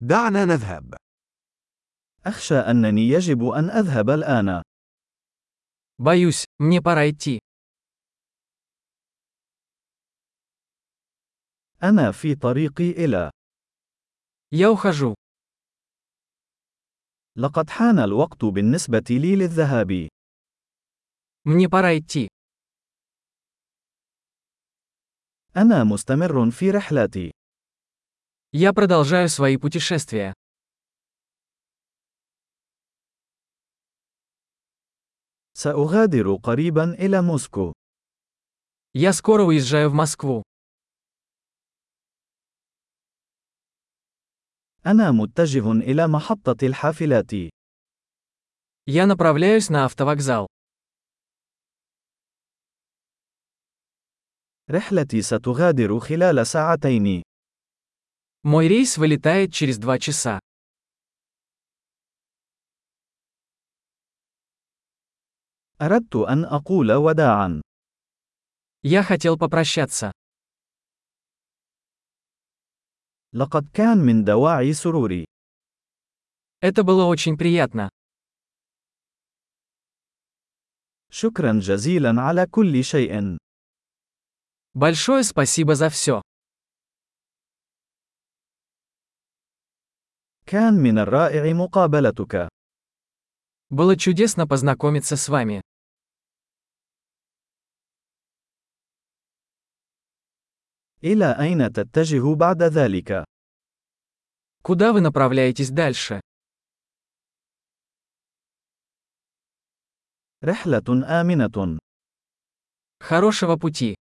دعنا نذهب. أخشى أنني يجب أن أذهب الآن. Боюсь, мне пора идти. أنا في طريقي إلى. Я ухожу. لقد حان الوقت بالنسبة لي للذهاب. Мне пора идти. أنا مستمر في رحلتي. Я продолжаю свои путешествия. سأغادر قريبا إلى موسكو. Я скоро уезжаю в Москву. أنا متجه إلى محطة الحافلات. Я направляюсь на автовокзал. رحلتي ستغادر خلال ساعتين. Мой рейс вылетает через 2 часа. أردت أن أقول وداعا. Я хотел попрощаться. لقد كان من دواعي سروري. Это было очень приятно. شكرا جزيلا على كل شيء. Большое спасибо за все. كان من الرائع مقابلتك. Было чудесно познакомиться с вами. إلى أين تتجه بعد ذلك؟ Куда вы направляетесь дальше? رحلة آمنة. Хорошего пути.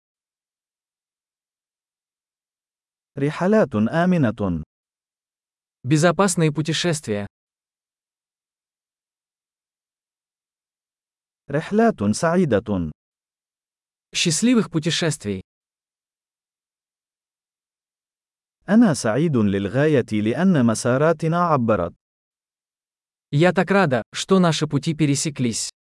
رحلات آمنة. Безопасные путешествия. رحلات سعيدة. Счастливых путешествий. أنا سعيد للغاية لأن مساراتنا عبرت. Я так рада, что наши пути пересеклись.